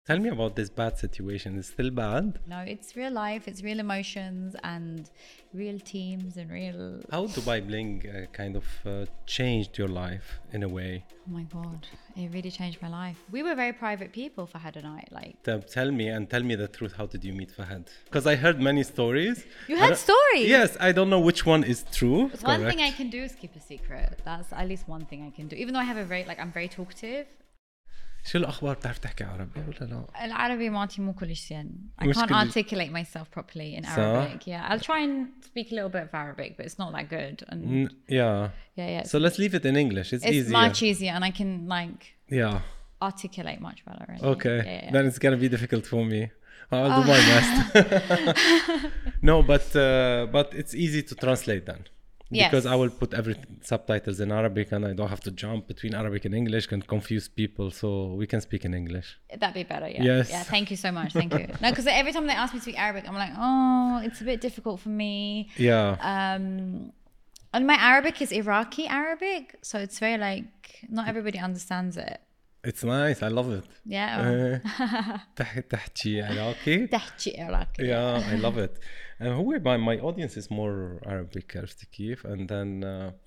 Tell me about this bad situation. It's still bad. No, it's real life, it's real emotions and real teams and real. How Dubai Bling kind of changed your life in a way? Oh my god, it really changed my life. We were very private people for Fahad and I. Like, Tell me the truth. How did you meet Fahad? Because I heard many stories. you heard stories? Yes, I don't know which one is true. One thing I can do is keep a secret. That's at least one thing I can do. Even though I have a very I'm very talkative. شو الأخبار؟ بتعرف تحكي عربي ولا لا؟ العربي مالتي مو كلش زين. I مش can't كلش. articulate myself properly in Arabic. Yeah, I'll try and speak a little bit of Arabic, but it's not that good. And yeah. So let's leave it in English. It's easier. Much easier, and I can yeah. articulate much better. Okay. Yeah. Then it's gonna be difficult for me. I'll do my best. No, but it's easy to translate then. Because I will put subtitles in Arabic and I don't have to jump between Arabic and English and confuse people, so we can speak in English. That'd be better, yeah. Yes. Yeah, thank you so much. Thank you. No, because every time they ask me to speak Arabic, I'm like, oh, it's a bit difficult for me. Yeah. And my Arabic is Iraqi Arabic, so it's very not everybody understands it. It's nice. I love it. Yeah. تحكي عراقي. تحكي عراقي. Yeah, I love it. هو my audience is more Arabic, عرفتي كيف? And then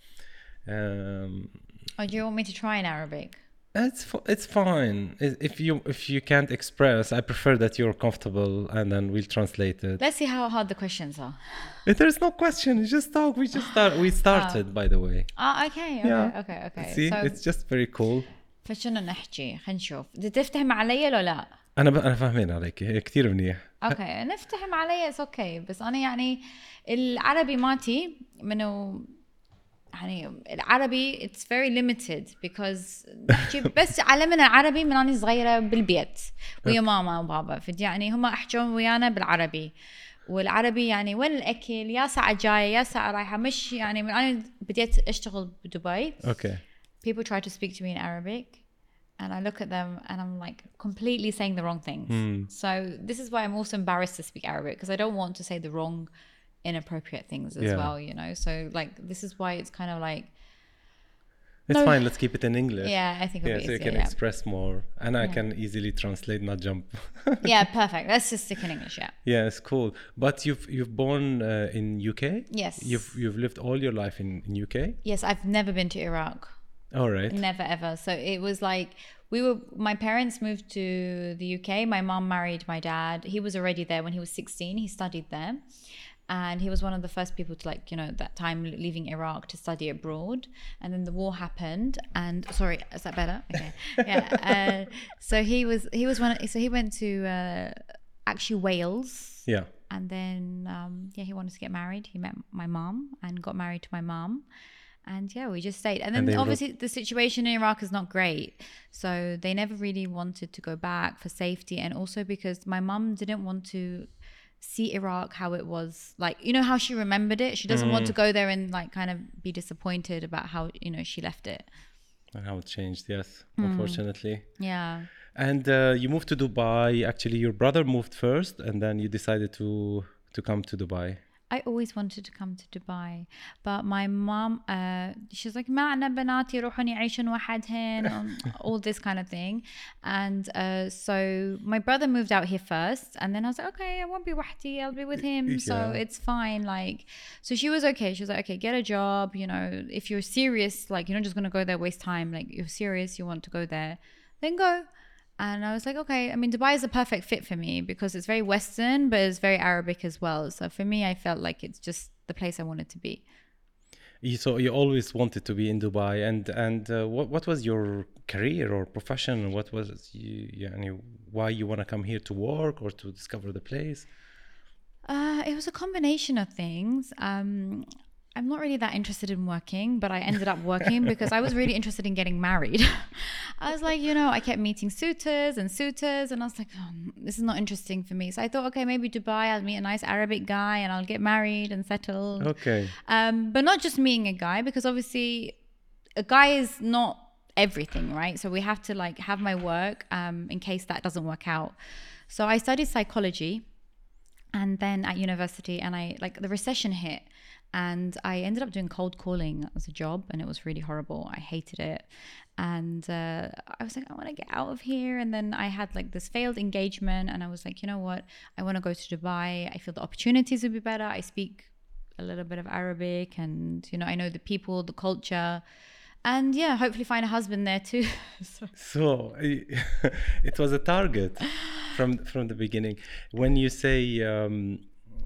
oh, do you want me to try in Arabic? It's fine. If you can't express, I prefer that you're comfortable and then we'll translate it. Let's see how hard the questions are. There's no question. You just talk. We started by the way. Okay. Okay. See, so, it's just very cool. فشنو نحكي؟ خلينا نشوف. بدي تفتهم علي ولا لا؟ أنا فاهمين عليك كتير منيح. اوكي نفتهم علي it's okay بس أنا يعني العربي ماتي منو يعني العربي it's very limited because نحكي بس علمنا العربي من أنا صغيرة بالبيت ويا ماما وبابا يعني هم أحجون ويانا بالعربي والعربي يعني وين الأكل يا ساعة جاية يا ساعة رايحة مش يعني من أنا بديت أشتغل بدبي. Okay. People try to speak to me in Arabic and I look at them and I'm completely saying the wrong things. So this is why I'm also embarrassed to speak Arabic because I don't want to say the wrong inappropriate things as well, So this is why it's kind of it's fine, let's keep it in English. Yeah, I think it'll be so you can express more and I can easily translate, not jump. Yeah, perfect. Let's just stick in English, yeah. Yeah, it's cool. But you've born in UK? Yes. You've lived all your life in UK? Yes, I've never been to Iraq. All right. Never ever. So it was my parents moved to the UK. My mom married my dad. He was already there when he was 16. He studied there. And he was one of the first people to at that time leaving Iraq to study abroad. And then the war happened. And sorry, is that better? Okay. Yeah. So he went to actually Wales. Yeah. And then he wanted to get married. He met my mom and got married to my mom. And we just stayed. And then obviously the situation in Iraq is not great. So they never really wanted to go back for safety. And also because my mum didn't want to see Iraq how it was. How she remembered it. She doesn't want to go there and kind of be disappointed about how, she left it. And how it changed, yes, unfortunately. Yeah. And you moved to Dubai. Actually, your brother moved first and then you decided to come to Dubai. I always wanted to come to Dubai, but my mom, she's like, ما عنا بنات يروحون يعيشون وحدهن, all this kind of thing. And so my brother moved out here first, and then I was like, okay, I won't be وحدي, I'll be with him, so it's fine. So she was okay. She was like, okay, get a job. If you're serious, you're not just gonna go there waste time. You're serious, you want to go there, then go. And I was like, okay, I mean, Dubai is a perfect fit for me because it's very Western, but it's very Arabic as well. So for me, I felt like it's just the place I wanted to be. So you always wanted to be in Dubai. And what was your career or profession? What was why you want to come here to work or to discover the place? It was a combination of things. I'm not really that interested in working, but I ended up working because I was really interested in getting married. I was like, I kept meeting suitors, and I was like, oh, this is not interesting for me. So I thought, okay, maybe Dubai, I'll meet a nice Arabic guy and I'll get married and settled. Okay. But not just meeting a guy, because obviously a guy is not everything, right? So we have to have my work in case that doesn't work out. So I studied psychology. And then at university, and the recession hit, and I ended up doing cold calling as a job, and it was really horrible. I hated it. And I was like, I want to get out of here. And then I had like this failed engagement, and I was like, you know what? I want to go to Dubai. I feel the opportunities would be better. I speak a little bit of Arabic, and, you know, I know the people, the culture. And yeah, hopefully find a husband there too. So it was a target from the beginning. When you say you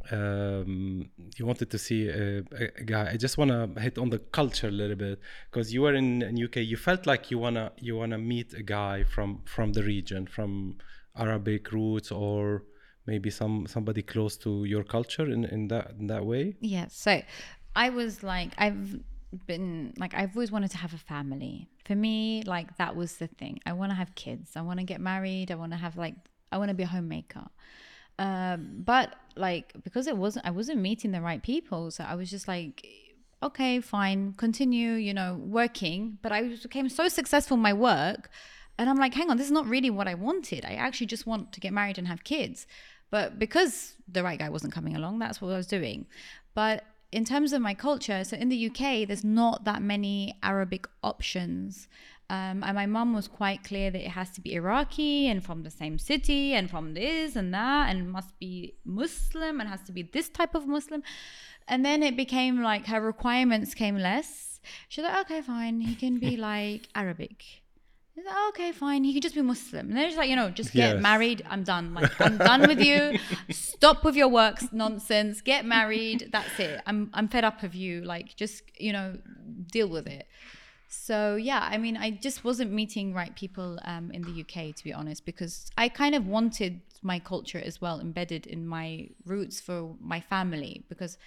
wanted to see a guy, I just want to hit on the culture a little bit, because you were in UK. You felt like you wanna meet a guy from the region, from Arabic roots, or maybe somebody close to your culture in that way. Yeah. So I was like, I've always wanted to have a family. For me, like, that was the thing. I want to have kids. I want to get married. I want to be a homemaker. But like, because I wasn't meeting the right people. So I was just like, okay, fine, continue, you know, working. But I became so successful in my work, and I'm like, hang on, this is not really what I wanted. I actually just want to get married and have kids. But because the right guy wasn't coming along, that's what I was doing. But in terms of my culture, so in the UK, there's not that many Arabic options. And my mum was quite clear that it has to be Iraqi and from the same city and from this and that, and must be Muslim and has to be this type of Muslim. And then it became like her requirements came less. She's like, okay, fine, he can be like Arabic. He's like, okay, fine, he can just be Muslim. And then she's like, you know, just get married. I'm done. Like, I'm done with you. Stop with your work nonsense. Get married. That's it. I'm fed up of you. Like, just, you know, deal with it. So yeah, I mean, I just wasn't meeting right people in the UK, to be honest, because I kind of wanted my culture as well embedded in my roots for my family, because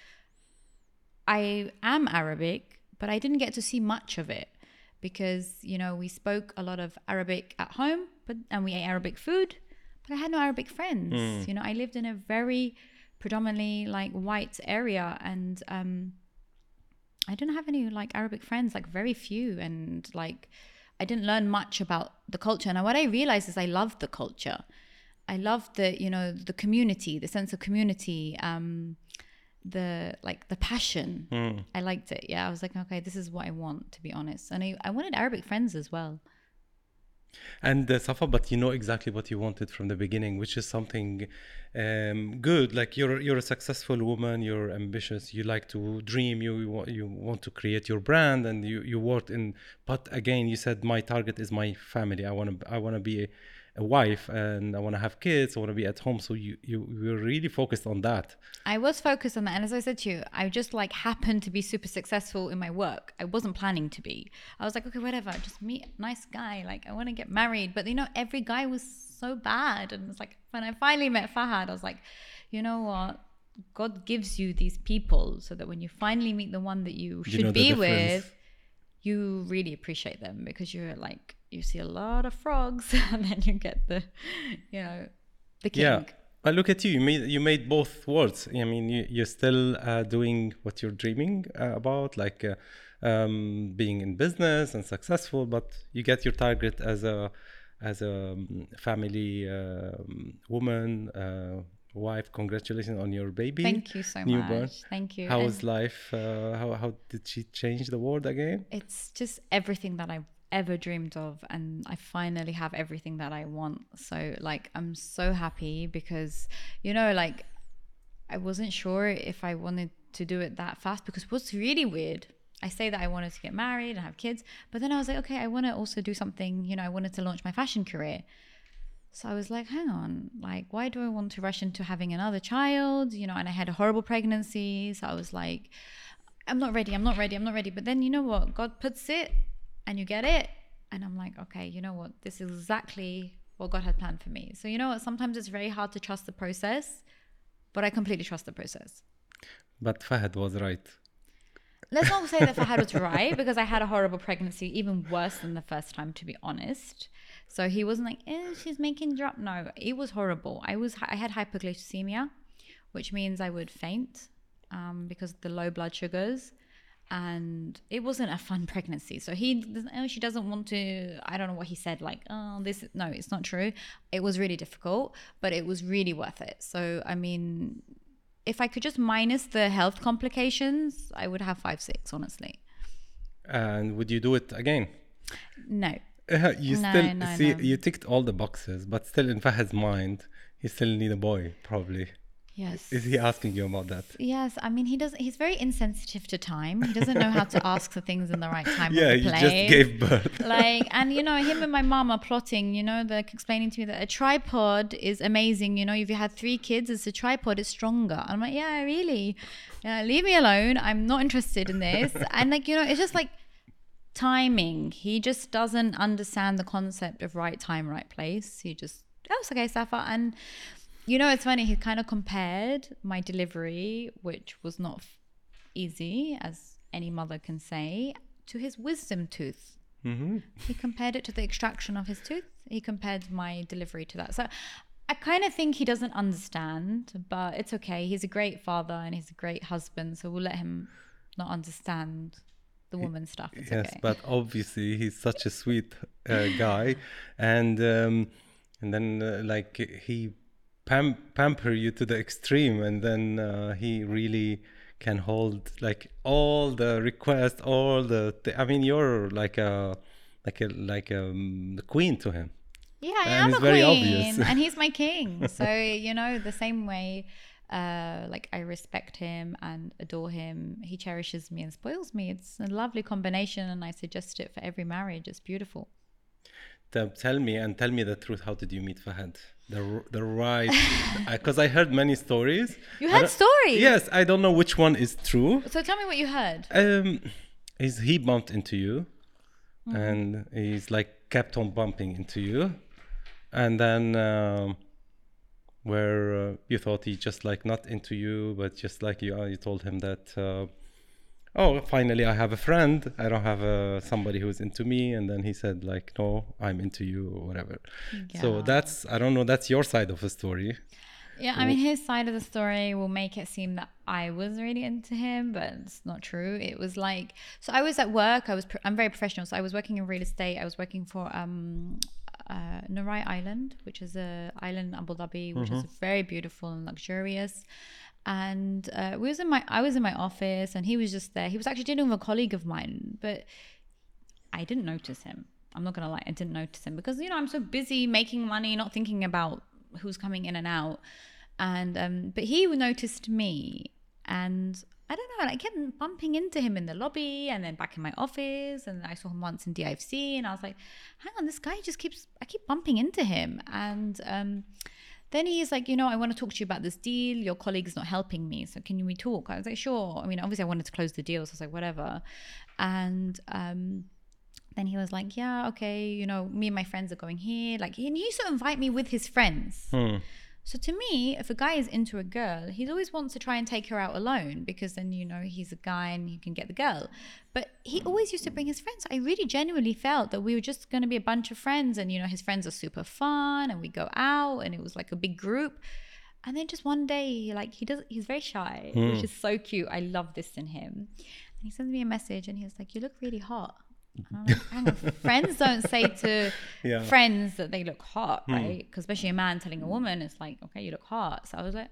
I am Arabic, but I didn't get to see much of it. Because, you know, we spoke a lot of Arabic at home, and we ate Arabic food, but I had no Arabic friends. You know, I lived in a very predominantly like white area, and I didn't have any like Arabic friends, like very few, and like I didn't learn much about the culture. And what I realized is I loved the culture. I loved the, you know, the community, the sense of community, the passion. I liked it. Yeah, I was like, okay, this is what I want, to be honest. And I wanted Arabic friends as well. And Safa, but you know exactly what you wanted from the beginning, which is something good. Like, you're a successful woman, you're ambitious, you like to dream, you want to create your brand, and you worked in. But again, you said my target is my family. I want to be a wife, and I want to have kids. I want to be at home. So you were really focused on that. I was focused on that, and as I said to you, I just like happened to be super successful in my work. I wasn't planning to be. I was like, okay, whatever, just meet a nice guy. Like, I want to get married, but you know, every guy was so bad, and it's like when I finally met Fahad, I was like, you know what? God gives you these people so that when you finally meet the one that you should be with, you really appreciate them, because you're like, you see a lot of frogs and then you get the, you know, the king. Yeah. Look at you. You made both worlds. I mean, you're still doing what you're dreaming about, like being in business and successful, but you get your target as a family woman, wife. Congratulations on your baby. Thank you so newborn. Much. Thank you. How was life? How did she change the world again? It's just everything that I've ever dreamed of, and I finally have everything that I want. So like, I'm so happy, because, you know, like, I wasn't sure if I wanted to do it that fast, because what's really weird, I say that I wanted to get married and have kids, but then I was like, okay, I want to also do something, you know, I wanted to launch my fashion career. So I was like, hang on, like, why do I want to rush into having another child? You know, and I had a horrible pregnancy. So I was like, I'm not ready. But then, you know what? God puts it and you get it. And I'm like, okay, you know what? This is exactly what God had planned for me. So you know what? Sometimes it's very hard to trust the process, but I completely trust the process. But Fahad was right. Let's not say that Fahad was right, because I had a horrible pregnancy, even worse than the first time, to be honest. So he wasn't like, she's making drop. No, it was horrible. I had hypoglycemia, which means I would faint because of the low blood sugars. And it wasn't a fun pregnancy. So she doesn't want to, I don't know what he said, like, no, it's not true. It was really difficult, but it was really worth it. So, I mean, if I could just minus the health complications, I would have 5'6", honestly. And would you do it again? No. You ticked all the boxes, but still in Fahad's mind, he still need a boy, probably. Yes. Is he asking you about that? Yes. I mean, he's very insensitive to time. He doesn't know how to ask for things in the right time. Yeah, he just gave birth. And him and my mom are plotting, they're explaining to me that a tripod is amazing. If you had 3 kids, it's a tripod, it's stronger. I'm like, yeah, really? Leave me alone. I'm not interested in this. And it's just like timing. He just doesn't understand the concept of right time, right place. He just, it's okay, Safa. And it's funny, he kind of compared my delivery, which was not easy, as any mother can say, to his wisdom tooth. Mm-hmm. He compared it to the extraction of his tooth. He compared my delivery to that. So I kind of think he doesn't understand, but it's okay. He's a great father and he's a great husband, so we'll let him not understand the woman stuff. It's yes, okay. But obviously he's such a sweet guy, and then he pamper you to the extreme, and then he really can hold all the requests, all the I mean, you're like a the queen to him. Yeah, I am a queen, and he's my king. So the same way, I respect him and adore him. He cherishes me and spoils me. It's a lovely combination, and I suggest it for every marriage. It's beautiful. Tell me the truth. How did you meet Fahad? The right, because I heard many stories. You heard stories? Yes, I don't know which one is true. So tell me what you heard. He bumped into you, and he's kept on bumping into you, and then where you thought he just not into you, but just you told him that. Finally I have a friend. I don't have somebody who's into me. And then he said no, I'm into you or whatever. Yeah. So I don't know, that's your side of the story. Yeah, I mean, his side of the story will make it seem that I was really into him, but it's not true. It was so I was at work. I'm very professional. So I was working in real estate. I was working for Nurai Island, which is an island in Abu Dhabi, which is very beautiful and luxurious. And I was in my office, and he was just there. He was actually dealing with a colleague of mine, but I didn't notice him. I'm not gonna lie, I didn't notice him because I'm so busy making money, not thinking about who's coming in and out. And but he noticed me, and I don't know, I kept bumping into him in the lobby and then back in my office, and I saw him once in DIFC, and I was like, hang on, this guy I keep bumping into him. And then he's like, I want to talk to you about this deal. Your colleague's not helping me, so can we talk? I was like, sure. I mean, obviously I wanted to close the deal, so I was like, whatever. And then he was like, yeah, okay, me and my friends are going here. And he used to invite me with his friends. So to me, if a guy is into a girl, he always wants to try and take her out alone, because then, he's a guy and you can get the girl. But he always used to bring his friends. I really genuinely felt that we were just going to be a bunch of friends, and, his friends are super fun, and we go out, and it was a big group. And then just one day, he's very shy, which is so cute. I love this in him. And he sends me a message, and he was like, you look really hot. And I'm like, hang on, friends don't say to friends that they look hot, right? Because especially a man telling a woman, it's like, okay, you look hot. So I was like,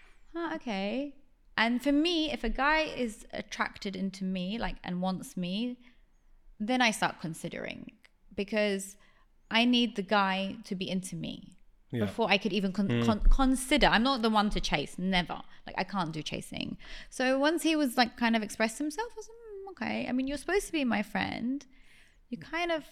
okay. And for me, if a guy is attracted into me, and wants me, then I start considering, because I need the guy to be into me before I could even consider. I'm not the one to chase, never. I can't do chasing. So once he was kind of expressed himself, I was like, okay, I mean, you're supposed to be my friend. You kind of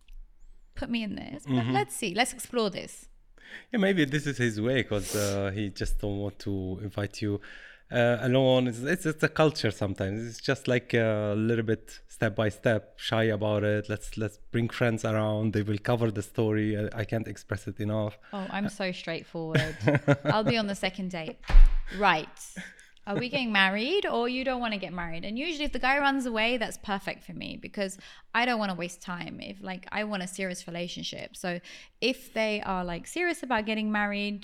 put me in this, but let's explore this. Yeah, maybe this is his way, because he just don't want to invite you alone. It's a culture sometimes. It's just a little bit step by step, shy about it. Let's bring friends around. They will cover the story. I can't express it enough. Oh, I'm so straightforward. I'll be on the second date. Right. Are we getting married, or you don't want to get married? And usually if the guy runs away, that's perfect for me, because I don't want to waste time. If I want a serious relationship. So if they are serious about getting married,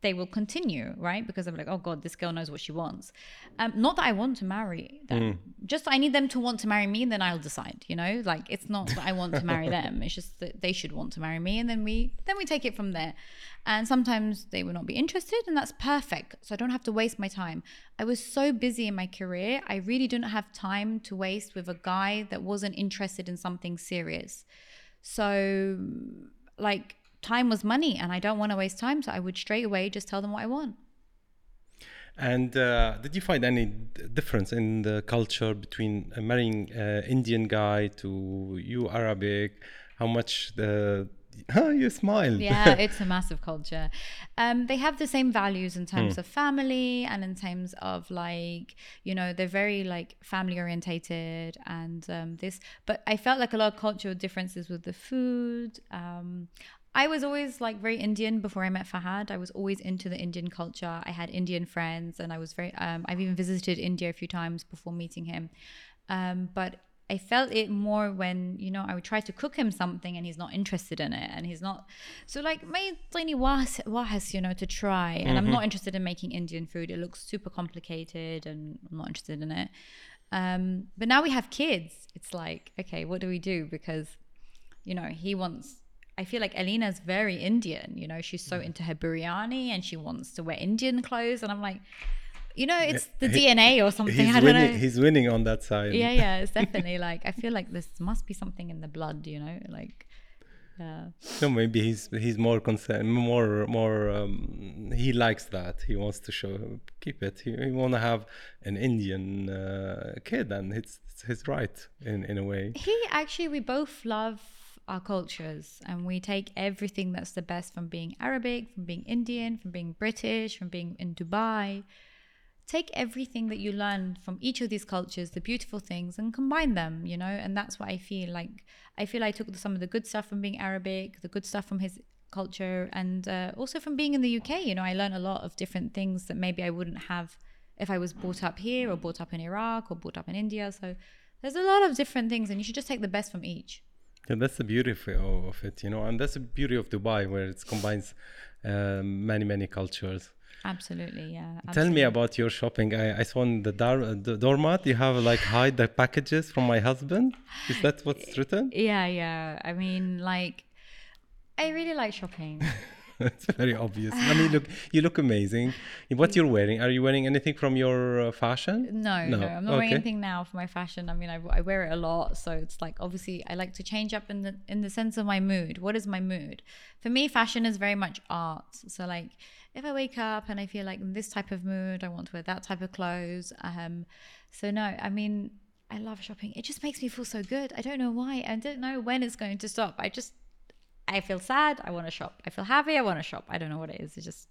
they will continue, right? Because I'm like, oh God, this girl knows what she wants. Not that I want to marry them. Just I need them to want to marry me, and then I'll decide, you know? Like, it's not that I want to marry them. It's just that they should want to marry me, and then we take it from there. And sometimes they will not be interested, and that's perfect. So I don't have to waste my time. I was so busy in my career. I really didn't have time to waste with a guy that wasn't interested in something serious. So, like, time was money, and I don't want to waste time. So I would straight away just tell them what I want. And did you find any difference in the culture between marrying Indian guy to you Arabic? How much you smiled. Yeah, it's a massive culture. They have the same values in terms of family and in terms of, like, you know, they're very like family orientated and but I felt like a lot of cultural differences with the food. I was always like very Indian before I met Fahad. I was always into the Indian culture. I had Indian friends, and I was very I've even visited India a few times before meeting him. But I felt it more when, you know, I would try to cook him something and he's not interested in it, and he's not. So like, made tiny wahas, you know, to try. And I'm not interested in making Indian food. It looks super complicated and I'm not interested in it. But now we have kids. It's like, okay, what do we do? Because, you know, I feel like Alina's very Indian, you know, she's so into her biryani and she wants to wear Indian clothes. And I'm like, you know, it's the DNA or something. I don't know. He's winning on that side. Yeah, it's definitely like, I feel like this must be something in the blood, you know, like. So maybe he's more concerned, he likes that. He wants to keep it. He want to have an Indian kid, and it's his right in a way. We both love our cultures, and we take everything that's the best from being Arabic, from being Indian, from being British, from being in Dubai. Take everything that you learn from each of these cultures, the beautiful things, and combine them, you know. And that's what I feel like. I feel I took some of the good stuff from being Arabic, the good stuff from his culture, and also from being in the UK. You know, I learned a lot of different things that maybe I wouldn't have if I was brought up here or brought up in Iraq or brought up in India. So there's a lot of different things, and you should just take the best from each. Yeah, that's the beauty of it, you know, and that's the beauty of Dubai, where it combines many cultures. Absolutely, yeah. Absolutely. Tell me about your shopping. I saw on the doormat you have like hide the packages from my husband. Is that what's written? Yeah. I mean, like, I really like shopping. It's very obvious. I mean, you look amazing. What you're wearing? Are you wearing anything from your fashion? No, I'm not wearing anything now for my fashion. I mean, I wear it a lot, so it's like, obviously I like to change up in the sense of my mood. What is my mood? For me, fashion is very much art. So like, if I wake up and I feel like in this type of mood, I want to wear that type of clothes. So no, I mean, I love shopping. It just makes me feel so good. I don't know why. I don't know when it's going to stop. I feel sad, I want to shop. I feel happy, I want to shop. I don't know what it is. It's just...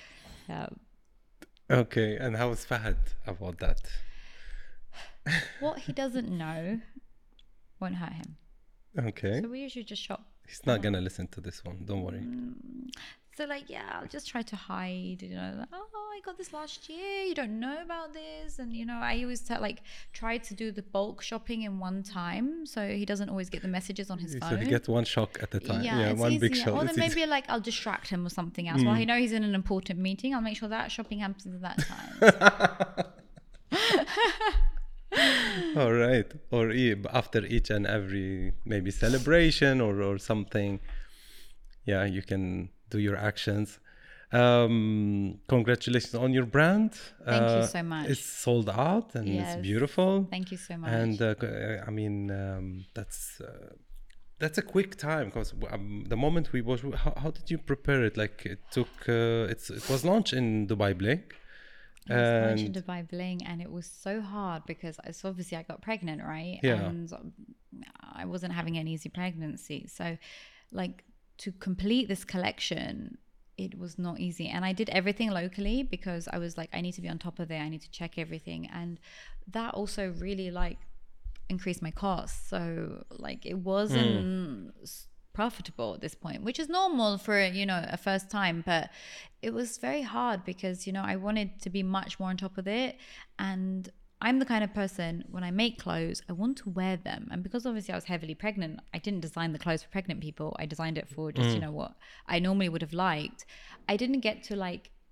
Okay, and how is Fahad about that? What he doesn't know won't hurt him. Okay. So we usually just shop. He's not going to listen to this one. Don't worry. So like, yeah, I'll just try to hide, you know, like, oh, I got this last year, you don't know about this. And, you know, I always try to do the bulk shopping in one time, so he doesn't always get the messages on his phone. So he gets one shock at a time. Yeah, one easier. big shock. Or then maybe like I'll distract him with something else. While I know he's in an important meeting, I'll make sure that shopping happens at that time. All right. Or after each and every maybe celebration or something. Yeah, you can do your actions. Congratulations on your brand. Thank you so much. It's sold out and it's beautiful. Thank you so much. And I mean, that's a quick time, because the moment we was, how did you prepare it? Like, it took it was launched in Dubai Bling. It was launched in Dubai Bling, and it was so hard because obviously I got pregnant, right? Yeah. And I wasn't having an easy pregnancy, so like, to complete this collection, it was not easy. And I did everything locally because I was like, I need to be on top of it. I need to check everything. And that also really like increased my costs. So like, it wasn't profitable at this point, which is normal for, you know, a first time, but it was very hard because, you know, I wanted to be much more on top of it. And I'm the kind of person, when I make clothes, I want to wear them. And because obviously I was heavily pregnant, I didn't design the clothes for pregnant people. I designed it for just, you know, what I normally would have liked. I didn't get to like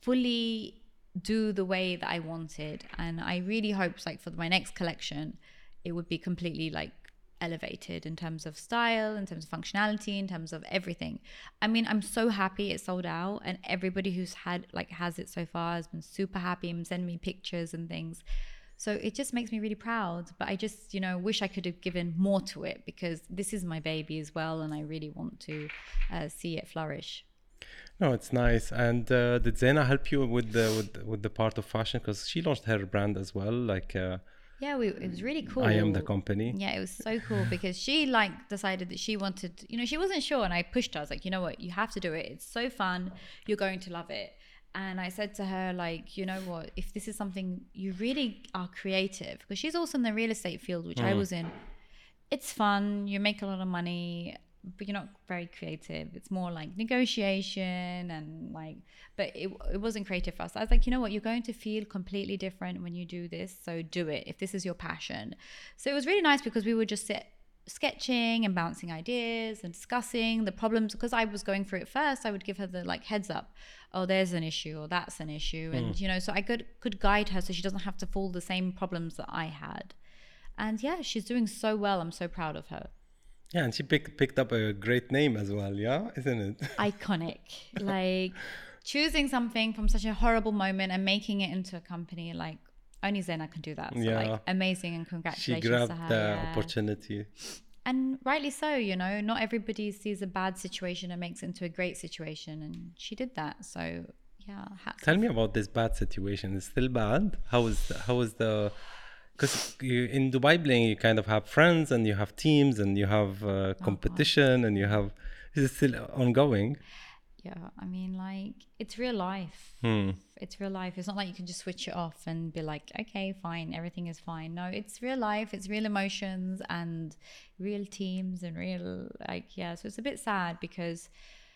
fully do the way that I wanted. And I really hoped like for my next collection, it would be completely like elevated in terms of style, in terms of functionality, in terms of everything. I mean, I'm so happy it sold out, and everybody who's has it so far has been super happy and sending me pictures and things. So it just makes me really proud. But I just, wish I could have given more to it, because this is my baby as well, and I really want to see it flourish. No, it's nice. And did Zena help you with the part of fashion? Because she launched her brand as well. Like, yeah, it was really cool. I Am the Company. Yeah, it was so cool because she decided that she wanted, she wasn't sure, and I pushed her. I was like, you know what, you have to do it. It's so fun. You're going to love it. And I said to her, like, you know what, if this is something you really are creative, because she's also in the real estate field, which I was in. It's fun. You make a lot of money, but you're not very creative. It's more like negotiation and like, but it wasn't creative for us. I was like, you know what, you're going to feel completely different when you do this. So do it if this is your passion. So it was really nice because we would just sit sketching and bouncing ideas and discussing the problems, because I was going through it first. I would give her the like heads up, oh, there's an issue or that's an issue. And, so I could guide her so she doesn't have to fall the same problems that I had. And yeah, she's doing so well. I'm so proud of her. Yeah, and she picked up a great name as well, yeah, isn't it? Iconic. Like choosing something from such a horrible moment and making it into a company, like only Zena can do that. So like amazing, and congratulations to her. She grabbed the opportunity. And rightly so, not everybody sees a bad situation and makes it into a great situation, and she did that. So yeah. Tell me about this bad situation. It's still bad? How is the because in Dubai Bling you kind of have friends and you have teams and you have competition and you have, is it still ongoing? Yeah, I mean, like, it's real life. It's real life. It's not like you can just switch it off and be like, okay, fine, everything is fine. No, it's real life. It's real emotions and real teams and real, like, yeah. So it's a bit sad because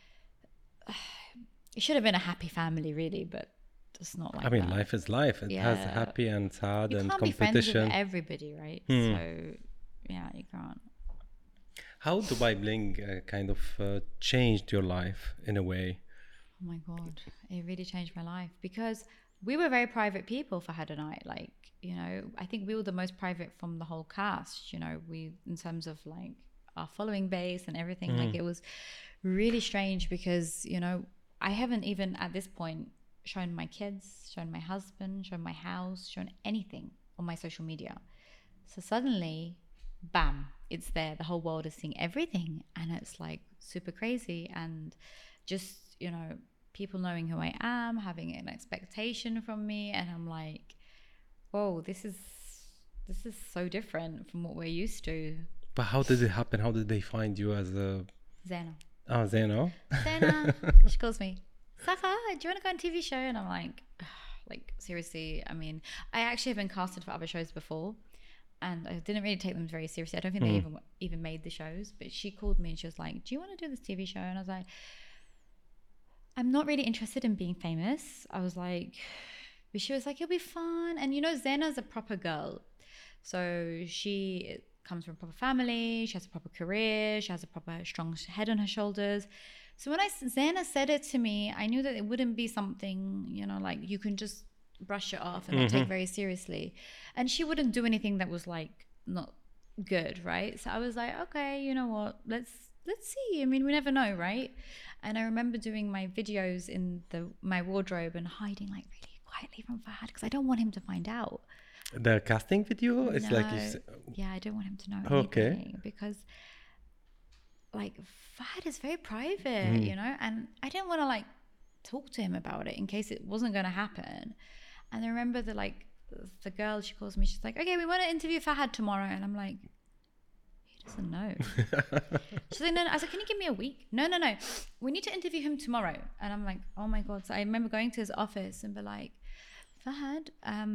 it should have been a happy family, really, but it's not like that. I mean, life is life. It has happy and sad and competition. You can't be friends with everybody, right? So, yeah, you can't. How Dubai Bling kind of changed your life in a way? Oh my God, it really changed my life because we were very private people for Fahad and I. Like, I think we were the most private from the whole cast, we, in terms of like our following base and everything, like it was really strange because, I haven't even at this point shown my kids, shown my husband, shown my house, shown anything on my social media. So suddenly, bam, it's there. The whole world is seeing everything, and it's like super crazy. And just, people knowing who I am, having an expectation from me, and I'm like, whoa, this is so different from what we're used to. But how did it happen? How did they find you as a Zena? Oh, Zena. Zena. She calls me, Safa, do you want to go on a TV show? And I'm like, seriously, I mean, I actually have been casted for other shows before, and I didn't really take them very seriously. I don't think they even made the shows, but she called me and she was like, do you want to do this TV show? And I was like, I'm not really interested in being famous. I was like, but she was like, it'll be fun. And Zena's a proper girl. So she comes from a proper family. She has a proper career. She has a proper strong head on her shoulders. So when Zena said it to me, I knew that it wouldn't be something, like you can just brush it off and not take very seriously. And she wouldn't do anything that was like not good, right? So I was like, okay, you know what? Let's see. I mean, we never know, right? And I remember doing my videos in my wardrobe and hiding like really quietly from Fahad because I don't want him to find out. The casting video? It's like yeah, I don't want him to know anything. Okay. Because like Fahad is very private, and I didn't want to like talk to him about it in case it wasn't going to happen. And I remember the girl, she calls me, she's like, okay, we want to interview Fahad tomorrow. And I'm like, he doesn't know. She's like, no. I said, can you give me a week? No. We need to interview him tomorrow. And I'm like, oh my God. So I remember going to his office and be like, Fahad,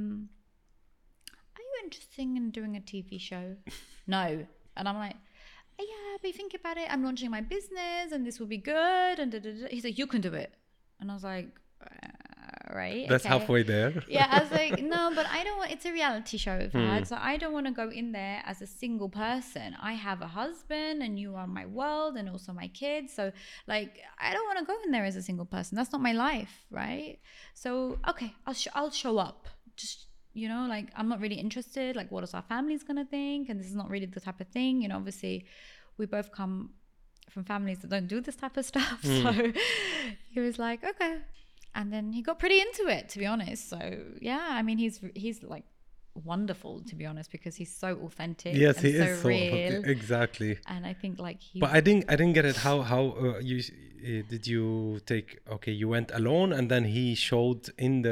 are you interested in doing a TV show? No. And I'm like, yeah, but think about it. I'm launching my business and this will be good. And da, da, da. He's like, you can do it. And I was like, right? That's okay. halfway there. Yeah, I was like, no, but I don't want, it's a reality show, Fahad, so I don't want to go in there as a single person. I have a husband and you are my world and also my kids. So like, I don't want to go in there as a single person. That's not my life, right? So, okay, I'll show up. Just, you know, like, I'm not really interested. Like, what is our family's going to think? And this is not really the type of thing. You know, obviously we both come from families that don't do this type of stuff. So he was like, okay. And then he got pretty into it, to be honest. So yeah, I mean, he's like wonderful, to be honest, because he's so authentic. Yes, and he so is so real. exactly. And I think like he. But I didn't get it. How you did you take? Okay, you went alone, and then he showed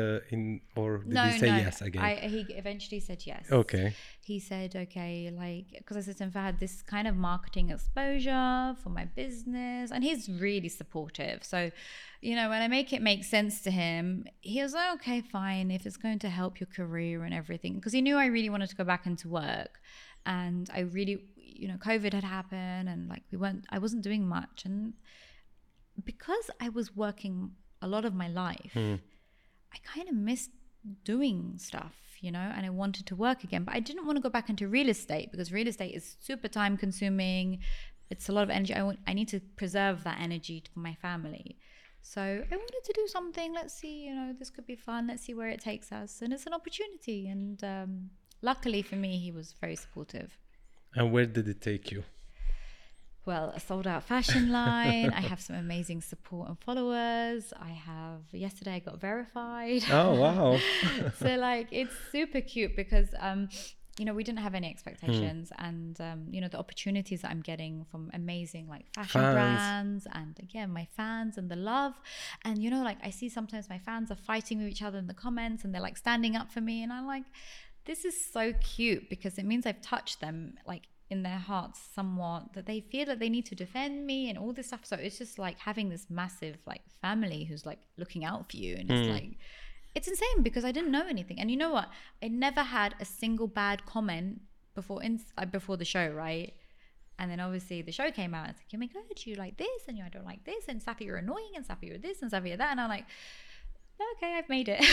or did he say yes again? He eventually said yes. Okay. He said, okay, like, because I said to him, I had this kind of marketing exposure for my business, and he's really supportive. So, you know, when I make it make sense to him, he was like, okay, fine, if it's going to help your career and everything, because he knew I really wanted to go back into work, and I really, you know, COVID had happened, and like I wasn't doing much, and because I was working a lot of my life, I kind of missed doing stuff, you know, and I wanted to work again, but I didn't want to go back into real estate because real estate is super time consuming. It's a lot of energy. I need to preserve that energy for my family. So I wanted to do something. Let's see, you know, this could be fun. Let's see where it takes us. And it's an opportunity. And luckily for me, he was very supportive. And where did it take you? Well, a sold out fashion line. I have some amazing support and followers. Yesterday I got verified. Oh, wow. So like, it's super cute because, you know, we didn't have any expectations. And, you know, the opportunities that I'm getting from amazing like fashion brands and again, my fans and the love. And, you know, like I see sometimes my fans are fighting with each other in the comments and they're like standing up for me. And I'm like, this is so cute because it means I've touched them like in their hearts somewhat, that they feel that they need to defend me and all this stuff. So it's just like having this massive like family who's like looking out for you. And it's like, it's insane because I didn't know anything. And you know what? I never had a single bad comment before the show, right? And then obviously the show came out. It's like, oh my God, you like this and I don't like this. And Safi, you're annoying. And Safi, you're this and Safi, you're that. And I'm like, okay, I've made it.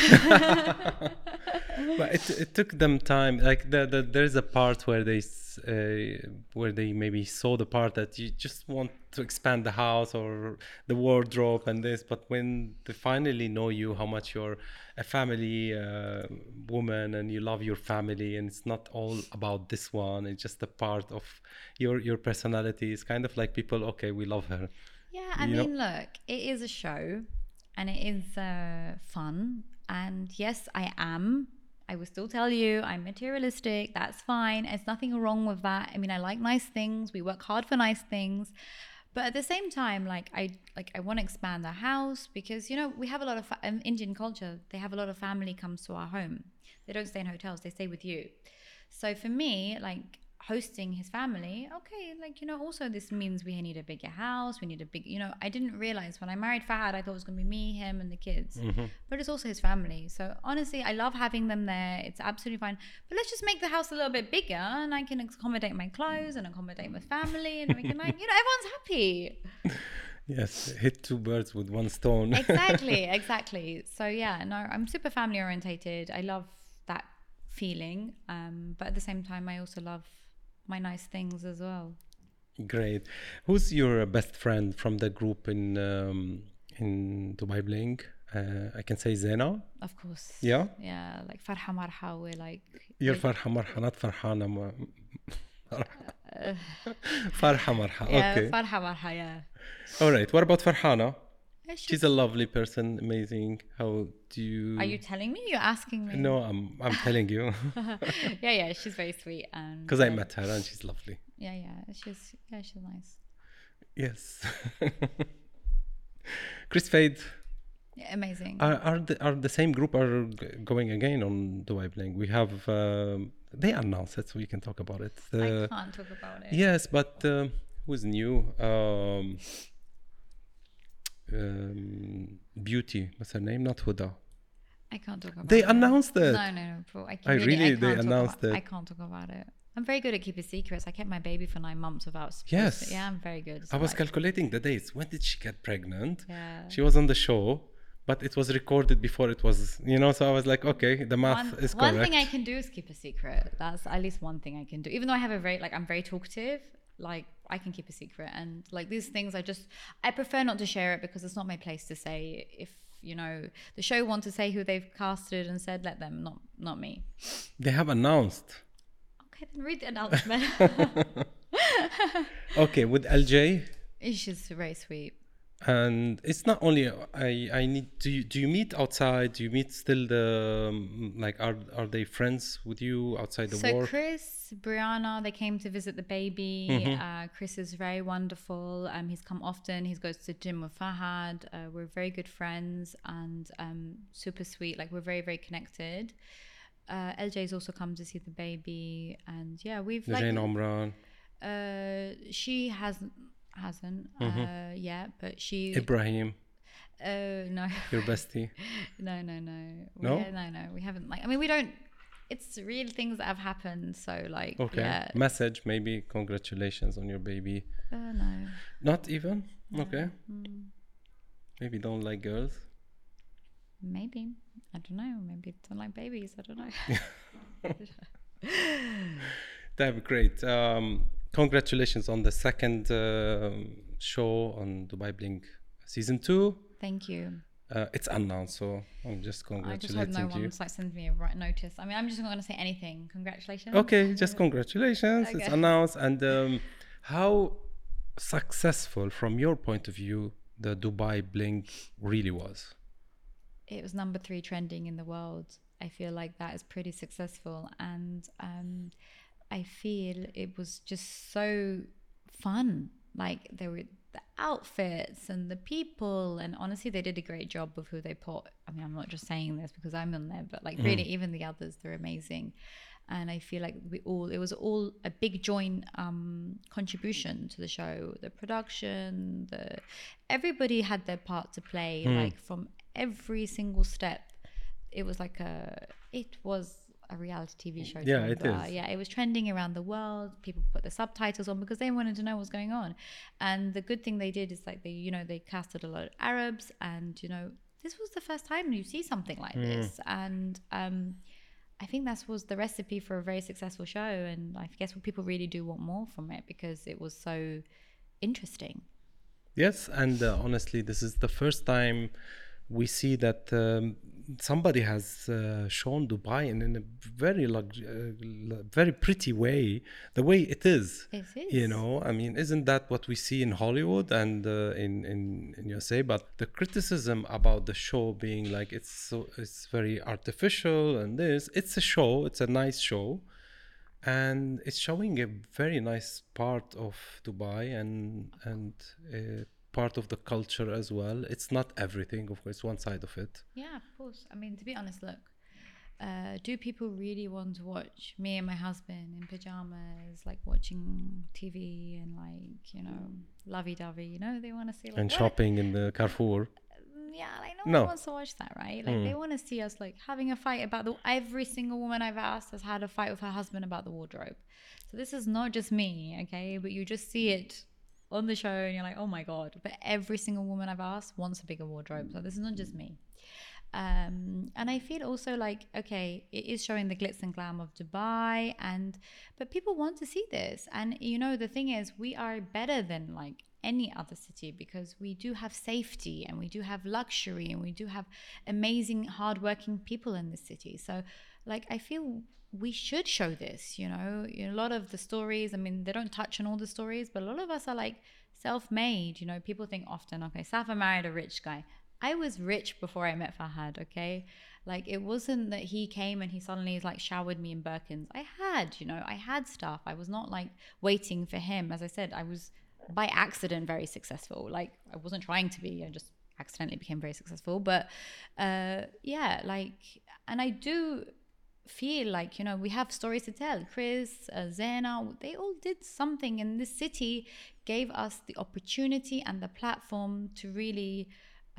But it took them time. Like there's a part where they maybe saw the part that you just want to expand the house or the wardrobe and this, but when they finally know you, how much you're a family woman and you love your family, and it's not all about this one. It's just a part of your personality. It's kind of like people, okay, we love her. Yeah, I mean, look, it is a show. And it is fun. And yes, I will still tell you, I'm materialistic. That's fine. There's nothing wrong with that. I mean, I like nice things. We work hard for nice things. But at the same time, I want to expand the house because, you know, we have a lot of Indian culture. They have a lot of family comes to our home. They don't stay in hotels. They stay with you. So for me, like, hosting his family, okay, like, you know, also this means we need a bigger house, we need a big, you know, I didn't realize when I married Fahad, I thought it was going to be me, him and the kids, but it's also his family. So honestly, I love having them there. It's absolutely fine, but let's just make the house a little bit bigger and I can accommodate my clothes and accommodate my family and we can, like, you know, everyone's happy. Yes, hit two birds with one stone. Exactly. So yeah, no, I'm super family orientated. I love that feeling, but at the same time I also love my nice things as well. Great. Who's your best friend from the group in Dubai Bling? I can say Zena. Of course. Yeah? Yeah, like Farha Marha, we're like... You're Farha Marha, not Farhana. Farha Marha, okay. Yeah, Farha Marha, yeah. All right, what about Farhana? She's a lovely person, amazing. How do you... Are you telling me? You're asking me? No, I'm telling you. Yeah, she's very sweet. Because I met her and she's lovely. Yeah, she's nice. Yes. Chris Fade. Yeah, amazing. Are the same group are going again on Dubai Bling? We have... they announced it, so we can talk about it. I can't talk about it. Yes, but who's new? Beauty, what's her name? Not Huda. I can't talk about They it. announced it. No, bro. They announced it. I can't talk about it. I'm very good at keeping secrets. I kept my baby for 9 months without... Yes. Yeah, I'm very good. So I was calculating the dates. When did she get pregnant? Yeah. She was on the show, but it was recorded before it was, you know, so I was like, okay, the math is correct. One thing I can do is keep a secret. That's at least one thing I can do. Even though I have a very, like, I'm very talkative, like, I can keep a secret. And, like, these things I prefer not to share it because it's not my place to say. If, you know, the show want to say who they've casted and said, let them, not me. They have announced. Okay, then read the announcement. Okay, with LJ. She's very sweet. And it's not only I need. Do you meet outside? Do you meet still the like? Are they friends with you outside the work? So Chris, Brianna, they came to visit the baby. Chris is very wonderful. He's come often. He goes to gym with Fahad. We're very good friends and super sweet. Like, we're very, very connected. LJ's also come to see the baby, and yeah, we've Jane Omran. She hasn't yet, but she Ibrahim. No. Your bestie. No. No, we haven't. Like, I mean, we don't. It's real things that have happened. So, like, okay. Yeah. Message, maybe congratulations on your baby. No. Not even. No. Okay. Maybe don't like girls. Maybe, I don't know. Maybe don't like babies. I don't know. That'd be great. Congratulations on the second show on Dubai Bling season 2. Thank you. It's announced, so I'm just congratulating I just hope no you. one's like sends me a right notice. I mean, I'm just not going to say anything. Congratulations. Okay, just congratulations. Okay. It's announced. And how successful, from your point of view, the Dubai Bling really was? It was number 3 trending in the world. I feel like that is pretty successful, and I feel it was just so fun. Like, there were the outfits and the people, and honestly, they did a great job of who they put. I mean, I'm not just saying this because I'm on there, but like really, even the others, they're amazing. And I feel like it was all a big joint contribution to the show. The production, everybody had their part to play. Like, from every single step, it was a reality TV show. Yeah, it is. Yeah, it was trending around the world. People put the subtitles on because they wanted to know what's going on. And the good thing they did is, like, they casted a lot of Arabs, and this was the first time you see something like this. And I think that was the recipe for a very successful show. And I guess people really do want more from it because it was so interesting. Yes, and honestly, this is the first time we see that somebody has shown Dubai in a very very pretty way, the way it is. It is. I mean, isn't that what we see in Hollywood and in USA? But the criticism about the show being like it's very artificial, and it's a show, it's a nice show, and it's showing a very nice part of Dubai and part of the culture as well. It's not everything, of course, one side of it. Yeah, of course. I mean, to be honest, look, do people really want to watch me and my husband in pajamas, like watching TV and lovey-dovey, they want to see like, and shopping in the Carrefour. Yeah, like no one wants to watch that, right? Like they want to see us like having a fight about every single woman I've asked has had a fight with her husband about the wardrobe. So this is not just me, okay? But you just see it on the show and you're like, oh my God. But every single woman I've asked wants a bigger wardrobe. So this is not just me. And I feel also like, okay, it is showing the glitz and glam of Dubai, but people want to see this. And the thing is, we are better than like any other city because we do have safety and we do have luxury and we do have amazing hardworking people in this city. So like, I feel we should show this, a lot of the stories, I mean, they don't touch on all the stories, but a lot of us are like self-made. People think often, okay, Safa married a rich guy. I was rich before I met Fahad, okay? Like, it wasn't that he came and he suddenly like showered me in Birkins. I had stuff. I was not like waiting for him. As I said, I was by accident very successful. Like, I wasn't trying to be, I just accidentally became very successful. But yeah, like, and I do feel like, we have stories to tell. Chris, Zena, they all did something in this city, gave us the opportunity and the platform to really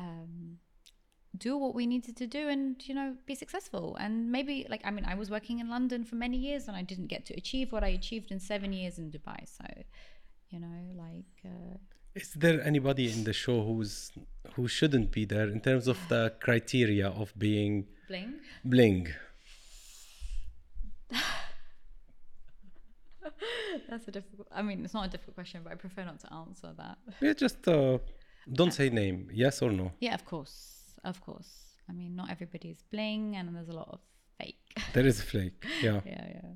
do what we needed to do and, be successful. And maybe like, I mean, I was working in London for many years and I didn't get to achieve what I achieved in 7 years in Dubai. So, Is there anybody in the show who shouldn't be there in terms of the criteria of being bling? That's a difficult. I mean, it's not a difficult question, but I prefer not to answer that. Yeah, just don't say name. Yes or no? Yeah, of course, of course. I mean, not everybody is bling, and there's a lot of fake. There is flake. Yeah. Yeah.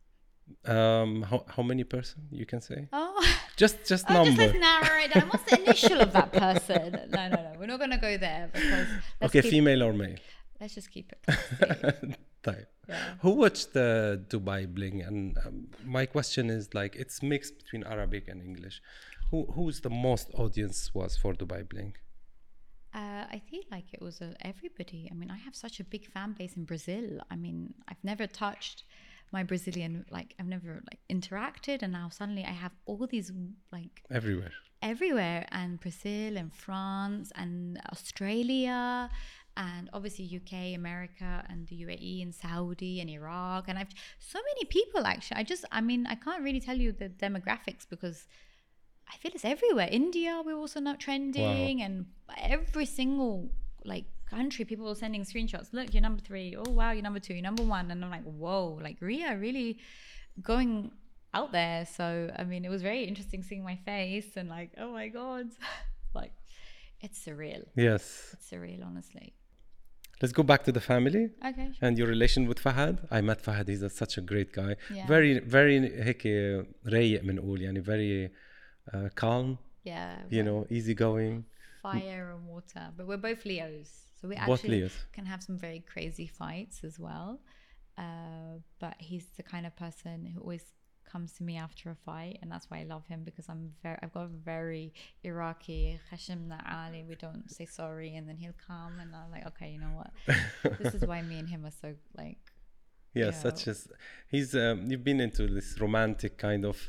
How many person you can say? Oh, just number. Just let's narrow it down. What's the initial of that person? No. We're not gonna go there because. Okay, female or male? Let's just keep it classy. Type. Yeah. Who watched the Dubai Bling? And my question is like, it's mixed between Arabic and English. Who's the most audience was for Dubai Bling? I feel like it was everybody. I mean, I have such a big fan base in Brazil. I mean, I've never touched my Brazilian, like I've never like interacted, and now suddenly I have all these like everywhere, and Brazil and France and Australia. And obviously UK, America, and the UAE, and Saudi, and Iraq, and I've so many people actually. I can't really tell you the demographics because I feel it's everywhere. India, we're also not trending, and every single like country, people are sending screenshots. Look, you're number 3. Oh wow, you're number 2. You're number 1, and I'm like, whoa, like Ria really going out there. So I mean, it was very interesting seeing my face and like, oh my god, like it's surreal. Yes, it's surreal, honestly. Let's go back to the family. Okay, sure. And your relation with Fahad. I met Fahad. He's such a great guy. Yeah. Very هيك رايق بنقول يعني very calm. Yeah. You know, easygoing. Fire and water. But we're both Leos. So we Both actually Leos. can have some very crazy fights as well. But he's the kind of person who always comes to me after a fight, and that's why I love him, because I've got a very Iraqi khashimna ali, we don't say sorry, and then he'll come and I'm like, okay, you know what, this is why me and him are so like, yeah, such as he's you've been into this romantic kind of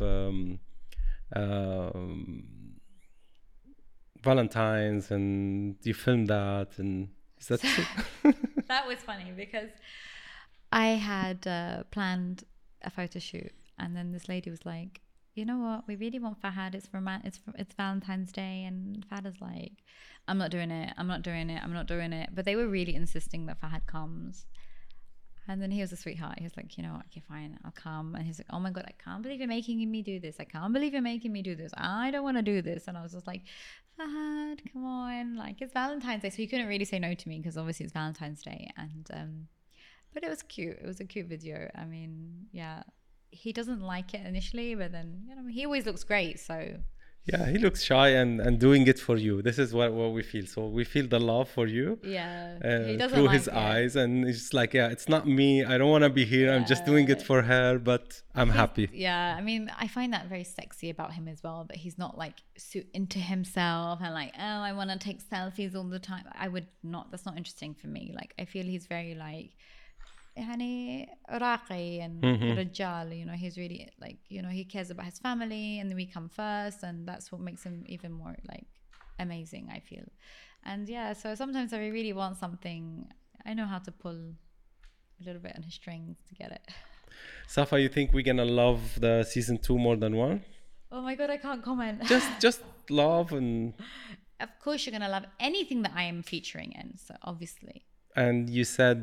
Valentine's, and you filmed that, and is that true? That was funny because I had planned a photo shoot. And then this lady was like, you know what? We really want Fahad. It's Valentine's Day. And Fahad is like, I'm not doing it. But they were really insisting that Fahad comes. And then he was a sweetheart. He was like, you know what? Okay, fine. I'll come. And he's like, oh my God, I can't believe you're making me do this. I can't believe you're making me do this. I don't want to do this. And I was just like, Fahad, come on. Like, it's Valentine's Day. So he couldn't really say no to me because obviously it's Valentine's Day. And, but it was cute. It was a cute video. I mean, yeah. He doesn't like it initially, but then, you know, he always looks great, so yeah, he looks shy and doing it for you. This is what we feel. So we feel the love for you, he doesn't through like his eyes, and he's just like, yeah, it's not me, I don't want to be here, I'm just doing it for her, but I'm happy. Yeah, I mean, I find that very sexy about him as well, that he's not like so into himself and like, oh, I want to take selfies all the time. That's not interesting for me. Like, I feel he's very like يعني راقي and رجال, you know, he's really like, you know, he cares about his family, and then we come first, and that's what makes him even more like amazing, I feel. And yeah, so sometimes I really want something, I know how to pull a little bit on his strings to get it. Safa, you think we're gonna love the season 2 more than 1? Oh my God, I can't comment. just love, and of course you're gonna love anything that I am featuring in, so obviously. And you said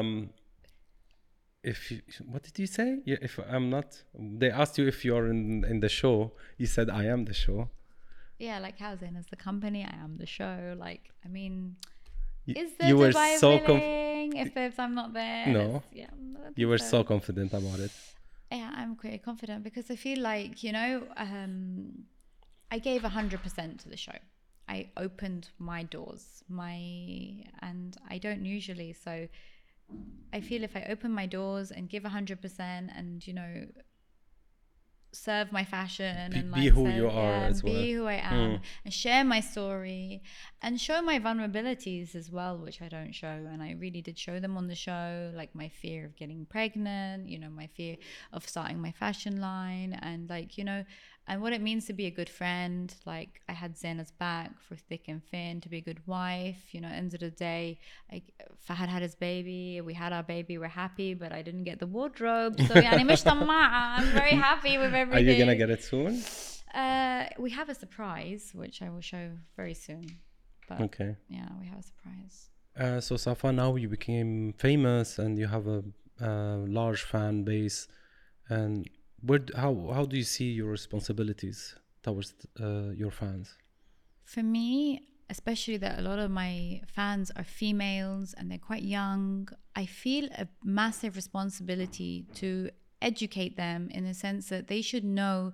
what did you say? Yeah, if I'm not, they asked you if you're in the show, you said I am the show. Yeah, like how Zain is the company, I am the show. Like, I mean, is the you were Dubai so willing if I'm not there? No, you were so confident about it. Yeah, I'm quite confident because I feel like, you know, I gave 100% to the show. I opened my doors, and I don't usually, so I feel if I open my doors and give 100% and, you know, serve my fashion and like be who you are as well, be who I am, and share my story and show my vulnerabilities as well, which I don't show, and I really did show them on the show, like my fear of getting pregnant, you know, my fear of starting my fashion line, and like, you know, and what it means to be a good friend. Like, I had Zaina's back for thick and thin, to be a good wife, you know. End of the day, Fahad had his baby, we had our baby, we're happy, but I didn't get the wardrobe, so يعني مش طماعة. I'm very happy with everything. Are you gonna get it soon? We have a surprise, which I will show very soon. But Okay. yeah, we have a surprise. So Safa, now you became famous and you have a large fan base. And how do you see your responsibilities towards your fans? For me, especially that a lot of my fans are females and they're quite young, I feel a massive responsibility to educate them in the sense that they should know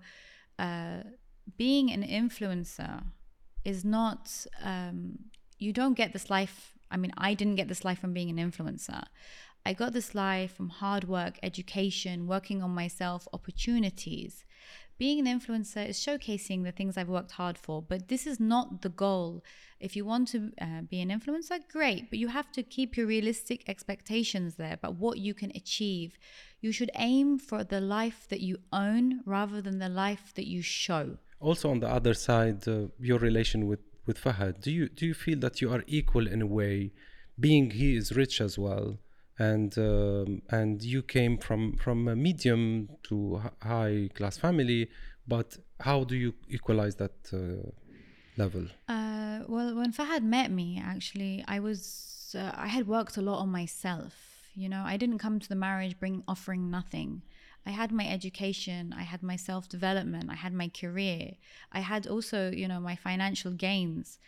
being an influencer is not, you don't get this life. I mean, I didn't get this life from being an influencer. I got this life from hard work, education, working on myself, opportunities. Being an influencer is showcasing the things I've worked hard for, but this is not the goal. If you want to be an influencer, great, but you have to keep your realistic expectations there about what you can achieve. You should aim for the life that you own rather than the life that you show. Also, on the other side, your relation with Fahad, do you feel that you are equal in a way, being he is rich as well, and you came from a medium to high class family, but how do you equalize that level? Well, when Fahad met me, actually, I had worked a lot on myself. You know, I didn't come to the marriage offering nothing. I had my education, I had my self-development, I had my career. I had also, you know, my financial gains.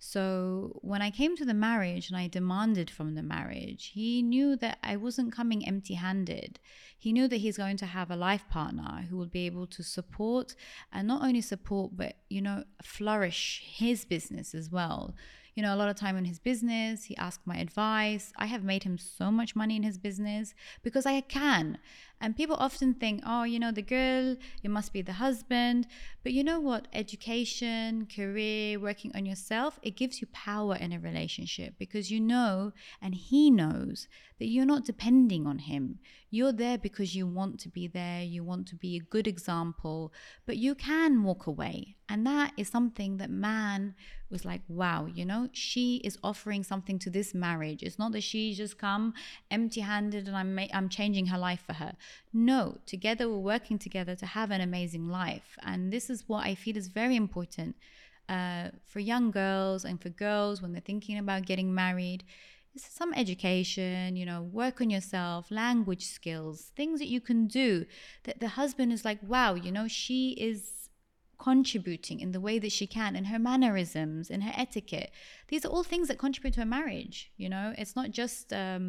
So when I came to the marriage and I demanded from the marriage, he knew that I wasn't coming empty-handed. He knew that he's going to have a life partner who will be able to support, and not only support, but, you know, flourish his business as well. You know, a lot of time in his business, he asked my advice. I have made him so much money in his business because I can. And people often think, oh, you know, the girl, it must be the husband. But you know what? Education, career, working on yourself, it gives you power in a relationship because you know, and he knows, that you're not depending on him. You're there because you want to be there. You want to be a good example, but you can walk away. And that is something that man was like, wow, you know, she is offering something to this marriage. It's not that she just come empty-handed and I'm changing her life for her. No, together we're working together to have an amazing life. And this is what I feel is very important for young girls and for girls when they're thinking about getting married. This is some education, you know, work on yourself, language skills, things that you can do that the husband is like, wow, you know, she is contributing in the way that she can, in her mannerisms, in her etiquette. These are all things that contribute to a marriage. You know, it's not just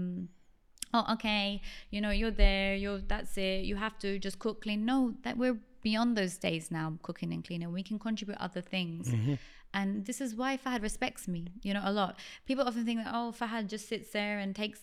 oh, okay, you know, you're there, that's it, you have to just cook, clean. No, that we're beyond those days now, cooking and cleaning. We can contribute other things. And this is why Fahad respects me, you know, a lot. People often think that, oh, Fahad just sits there and takes,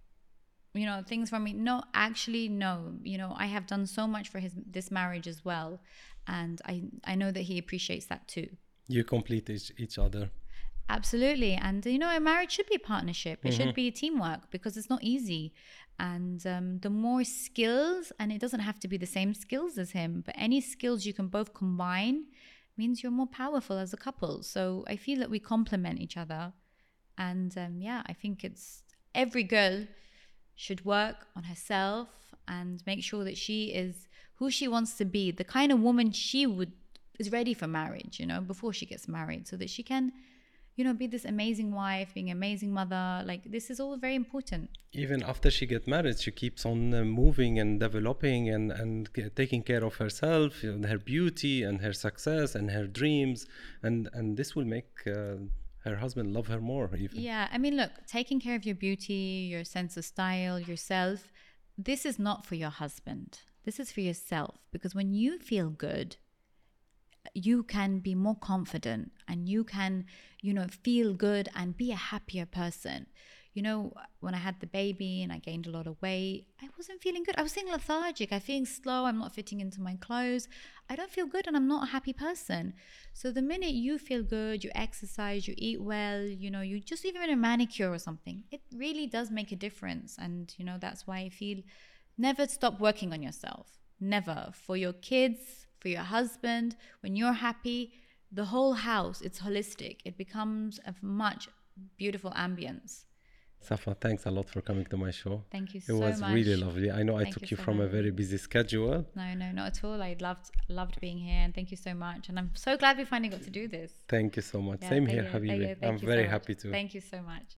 you know, things from me. No, actually, no. You know, I have done so much for this marriage as well. And I know that he appreciates that too. You complete each other. Absolutely. And, you know, a marriage should be a partnership. It should be teamwork because it's not easy. And the more skills, and it doesn't have to be the same skills as him, but any skills you can both combine means you're more powerful as a couple. So I feel that we complement each other. And yeah, I think it's every girl should work on herself and make sure that she is who she wants to be, the kind of woman is ready for marriage, you know, before she gets married, so that she can, you know, be this amazing wife, being an amazing mother. Like, this is all very important. Even after she gets married, she keeps on moving and developing and taking care of herself, and her beauty and her success and her dreams. And this will make her husband love her more even. Yeah, I mean, look, taking care of your beauty, your sense of style, yourself, this is not for your husband. This is for yourself. Because when you feel good, you can be more confident and you can, you know, feel good and be a happier person. You know, when I had the baby and I gained a lot of weight, I wasn't feeling good. I was feeling lethargic. I'm feeling slow. I'm not fitting into my clothes. I don't feel good and I'm not a happy person. So the minute you feel good, you exercise, you eat well, you know, you just even a manicure or something, it really does make a difference. And, you know, that's why I feel never stop working on yourself. Never. For your kids, for your husband, when you're happy, the whole house, it's holistic. It becomes a much beautiful ambience. Safa, thanks a lot for coming to my show. Thank you It so much. was really lovely. I know I Thank took you you so from a much. very busy schedule. No, not at all. I loved being here, and thank you so much. And I'm so glad we finally got to do this. Thank you so much. Yeah, Same thank here, you, Habibi. thank I'm you very so much. happy to. Thank you so much.